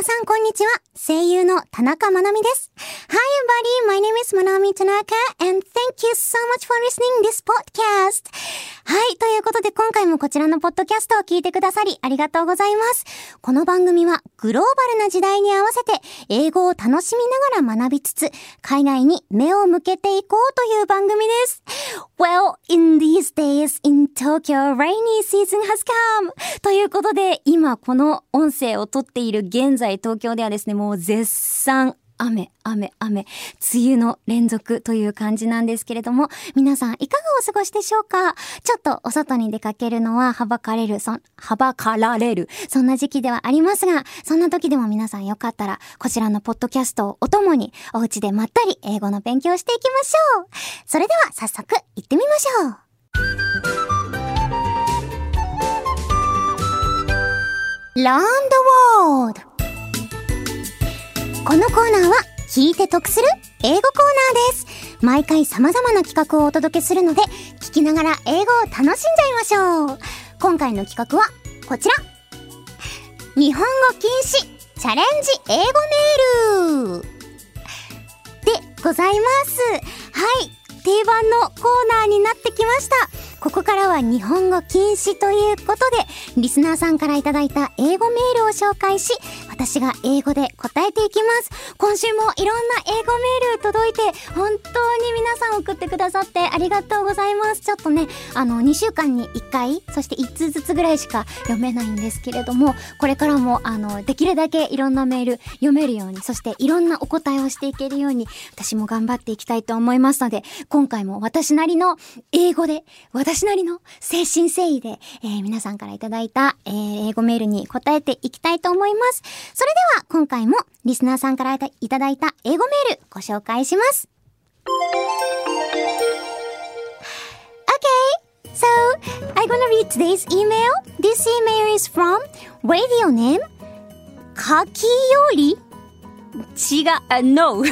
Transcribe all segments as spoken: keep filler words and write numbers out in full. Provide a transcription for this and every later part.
皆さんこんにちは。声優の田中まなみです。Hi everybody, my name is Manami Tanaka and thank you so much for listening this podcast. はい、ということで今回もこちらのポッドキャストを聞いてくださりありがとうございます。この番組はグローバルな時代に合わせて英語を楽しみながら学びつつ海外に目を向けていこうという番組です。Well, in these days in Tokyo, rainy season has come. ということで今この音声を撮っている現在東京ではですね、もう絶賛雨、雨、雨、梅雨の連続という感じなんですけれども、皆さんいかがお過ごしでしょうか？ちょっとお外に出かけるのははばかれる、そ、はばかられる、そんな時期ではありますが、そんな時でも皆さんよかったら、こちらのポッドキャストをお供に、お家でまったり英語の勉強をしていきましょう。それでは早速行ってみましょう。Learn the world! このコーナーは聞いて得する英語コーナーです。毎回様々な企画をお届けするので聞きながら英語を楽しんじゃいましょう。今回の企画はこちら。日本語禁止チャレンジ英語メールでございます。はい、定番のコーナーになってきました。ここからは日本語禁止ということで、リスナーさんからいただいた英語メールを紹介し、私が英語で答えていきます。今週もいろんな英語メール届いて、本当に皆さん送ってくださってありがとうございます。ちょっとね、あの、にしゅうかんにいっかい、そしていっつうずつぐらいしか読めないんですけれども、これからも、あの、できるだけいろんなメール読めるように、そしていろんなお答えをしていけるように、私も頑張っていきたいと思いますので、今回も私なりの英語で、私私なりの誠心誠意で、えー、皆さんからいただいた、えー、英語メールに答えていきたいと思います。それでは今回もリスナーさんからいただいた英語メールご紹介します。Okay, so I'm gonna read today's email. This email is from radio name かきより違う、uh, no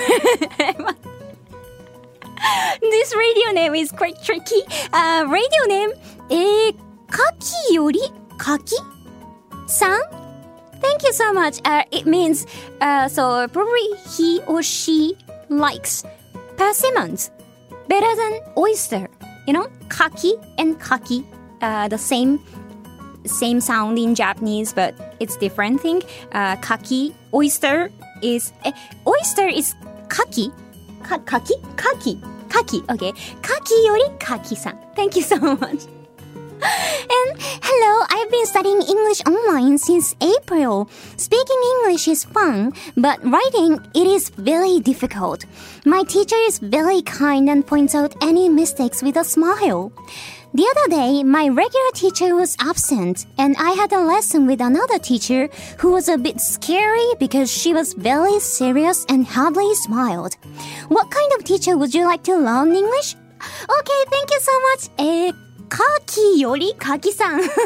This radio name is quite tricky. Uh, radio name, えー、かきよりかきさん Thank you so much. Uh, it means, uh, so probably he or she likes persimmons better than oyster. You know, kaki and kaki, uh, the same, same sound in Japanese, but it's different thing. Uh, kaki, oyster is, eh, oyster is kaki. Ka- kaki? Kaki. Kaki. Okay. Kaki yori kaki-san. Thank you so much. And hello, I've been studying English online since April. Speaking English is fun, but writing, it is very difficult. My teacher is very kind and points out any mistakes with a smile. The other day, my regular teacher was absent, and I had a lesson with another teacher who was a bit scary because she was very serious and hardly smiled. What kind of teacher would you like to learn English? Okay, thank you so much. えー、かきよりかきさん。Thank you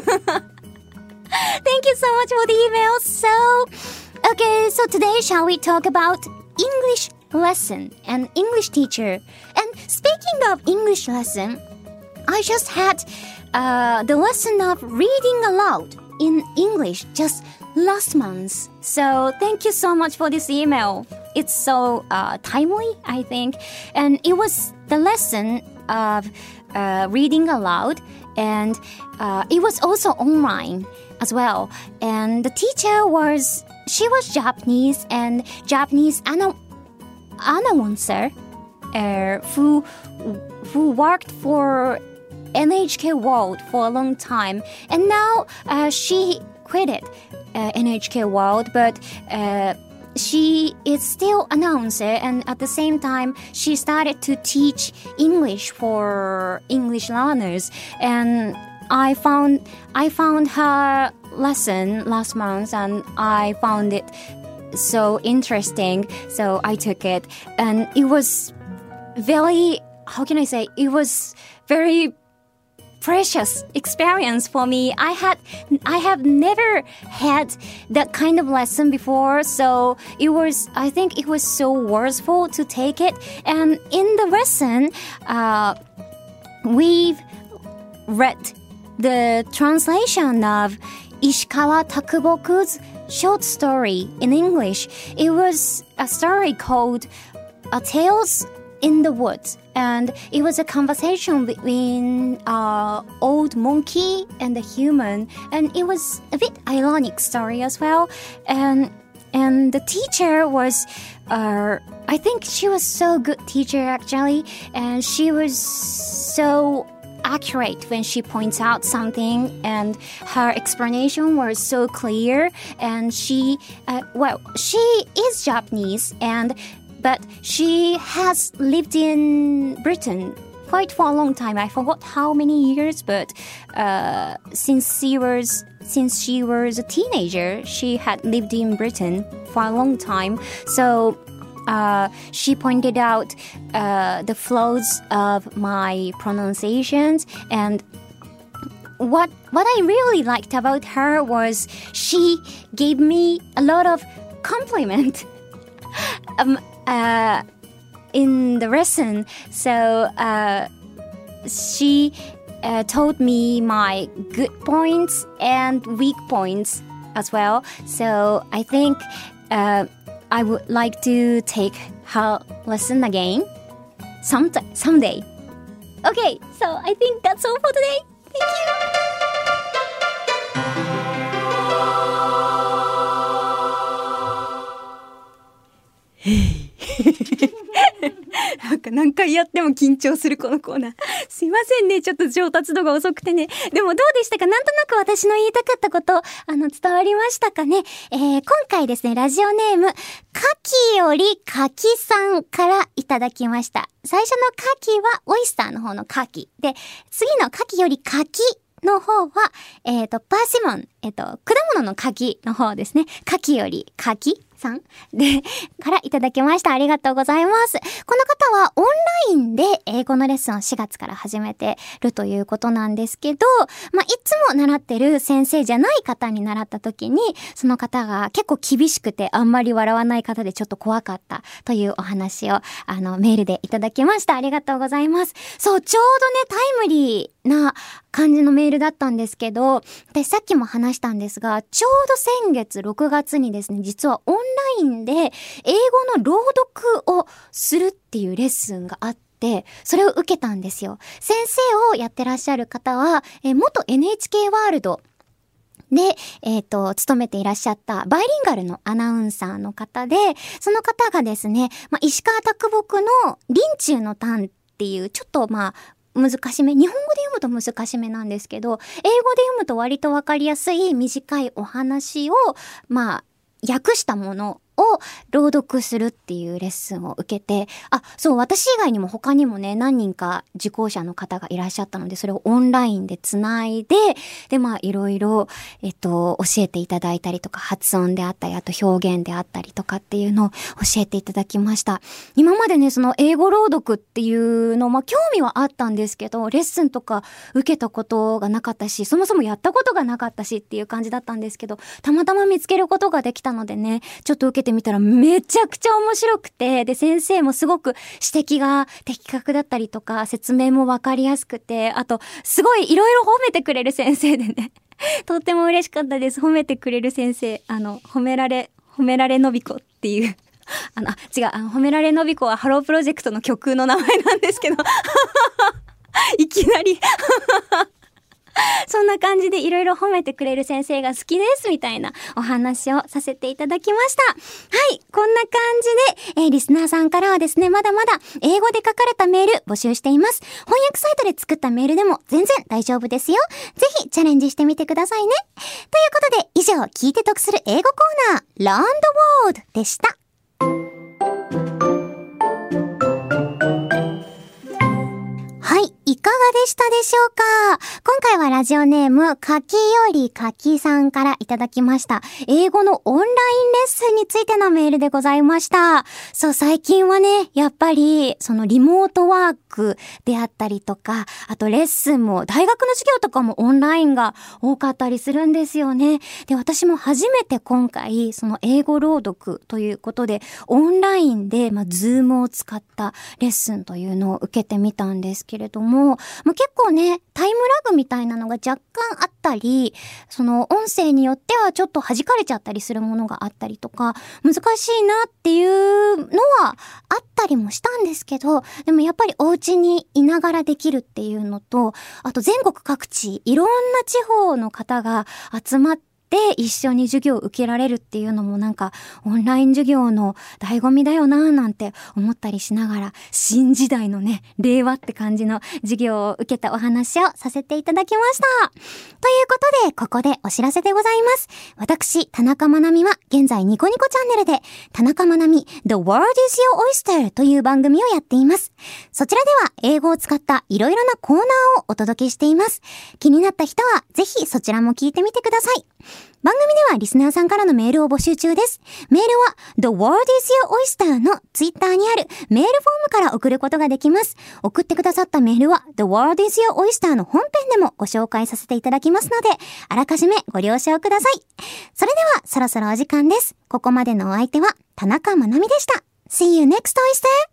so much for the email. So, okay, so today shall we talk about English lesson and English teacher? And speaking of English lesson,I just had uh, the lesson of reading aloud in English just last month. So thank you so much for this email. It's so uh, timely, I think. And it was the lesson of uh, reading aloud. And uh, it was also online as well. And the teacher was, she was Japanese and Japanese ana- announcer uh, who, who worked for N H K World for a long time, and now uh, she quitted uh, N H K World, but uh, she is still announcer, and at the same time she started to teach English for English learners. And I found I found her lesson last month, and I found it so interesting, so I took it, and it was very, how can I say, it was very precious experience for me. I had, I have never had that kind of lesson before, so it was, I think it was so worthwhile to take it. And in the lesson, uh, we've read the translation of Ishikawa Takuboku's short story in English. It was a story called A Tales in the Woods, and it was a conversation between an old monkey and a human, and it was a bit ironic story as well. And and the teacher was, uh, I think she was so good teacher actually, and she was so accurate when she points out something, and her explanation was so clear. And she, uh, well, she is Japanese, and but she has lived in Britain quite for a long time. I forgot how many years, but uh, since she was since she was a teenager, she had lived in Britain for a long time. So uh, she pointed out uh, the flaws of my pronunciations, and what what I really liked about her was she gave me a lot of compliment um, uh, in the lesson. So uh, she uh, told me my good points and weak points as well. So I think uh, I would like to take her lesson again some someday. Okay, so I think that's all for today. Thank you. なんか何回やっても緊張するこのコーナー。すいませんね、ちょっと上達度が遅くてね。でもどうでしたか？なんとなく私の言いたかったこと、あの、伝わりましたかね？えー、今回ですね、ラジオネーム、かきよりかきさんからいただきました。最初のかきはオイスターの方のかき。で、次のかきよりかきの方は、えっと、パーシモン、えっと、果物の柿の方ですね。柿より柿さんで、からいただきました。ありがとうございます。この方はオンラインで英語のレッスンをしがつから始めてるということなんですけど、まあ、いつも習ってる先生じゃない方に習った時に、その方が結構厳しくてあんまり笑わない方でちょっと怖かったというお話を、あの、メールでいただきました。ありがとうございます。そう、ちょうどね、タイムリーな感じのメールだったんですけど、で、さっきも話したんですが、ちょうど先月ろくがつにですね、実はオンラインで英語の朗読をするっていうレッスンがあって、それを受けたんですよ。先生をやってらっしゃる方は、え元 エヌエイチケー ワールドで、えっと、勤めていらっしゃったバイリンガルのアナウンサーの方で、その方がですね、まあ、石川啄木の林中の短っていう、ちょっとまあ、難しめ、日本語で読むと難しめなんですけど、英語で読むと割とわかりやすい短いお話を、まあ、訳したものを朗読するっていうレッスンを受けて、あ、そう、私以外にも他にもね、何人か受講者の方がいらっしゃったので、それをオンラインでつないで、で、まあ、いろいろ、えっと、教えていただいたりとか、発音であったり、あと表現であったりとかっていうのを教えていただきました。今までね、その英語朗読っていうの、まあ、興味はあったんですけど、レッスンとか受けたことがなかったし、そもそもやったことがなかったしっていう感じだったんですけど、たまたま見つけることができたのでね、ちょっと受けてみたらめちゃくちゃ面白くて、で、先生もすごく指摘が的確だったりとか、説明もわかりやすくて、あと、すごいいろいろ褒めてくれる先生でね、とっても嬉しかったです。褒めてくれる先生、あの、褒められ、褒められのびこっていう、あの、あ、違う、あの、褒められのびこはハロープロジェクトの曲の名前なんですけど、いきなり、そんな感じでいろいろ褒めてくれる先生が好きですみたいなお話をさせていただきました。はい、こんな感じで、えー、リスナーさんからはですね、まだまだ英語で書かれたメール募集しています。翻訳サイトで作ったメールでも全然大丈夫ですよ。ぜひチャレンジしてみてくださいね。ということで、以上、聞いて得する英語コーナー、Learn the Word でした。はい、いかがでしたでしょうか？今回はラジオネーム、かきよりかきさんからいただきました。英語のオンラインレッスンにつついてのメールでございました。そう、最近はね、やっぱり、そのリモートワークであったりとか、あとレッスンも、大学の授業とかもオンラインが多かったりするんですよね。で、私も初めて今回、その英語朗読ということで、オンラインで、まあ、ズームを使ったレッスンというのを受けてみたんですけれども、まあ、結構ね、タイムラグみたいなのが若干あったり、その音声によってはちょっと弾かれちゃったりするものがあったりとか、難しいなっていうのはあったりもしたんですけど、でもやっぱりお家にいながらできるっていうのと、あと全国各地、いろんな地方の方が集まってで一緒に授業を受けられるっていうのもなんかオンライン授業の醍醐味だよなぁなんて思ったりしながら、新時代のね、令和って感じの授業を受けたお話をさせていただきました。ということで、ここでお知らせでございます。私、田中まなみは現在ニコニコチャンネルで田中まなみ The World is Your Oyster という番組をやっています。そちらでは英語を使ったいろいろなコーナーをお届けしています。気になった人はぜひそちらも聞いてみてください。番組ではリスナーさんからのメールを募集中です。メールは The World is Your Oyster のツイッターにあるメールフォームから送ることができます。送ってくださったメールは The World is Your Oyster の本編でもご紹介させていただきますので、あらかじめご了承ください。それではそろそろお時間です。ここまでのお相手は田中まなみでした。See you next Oyster!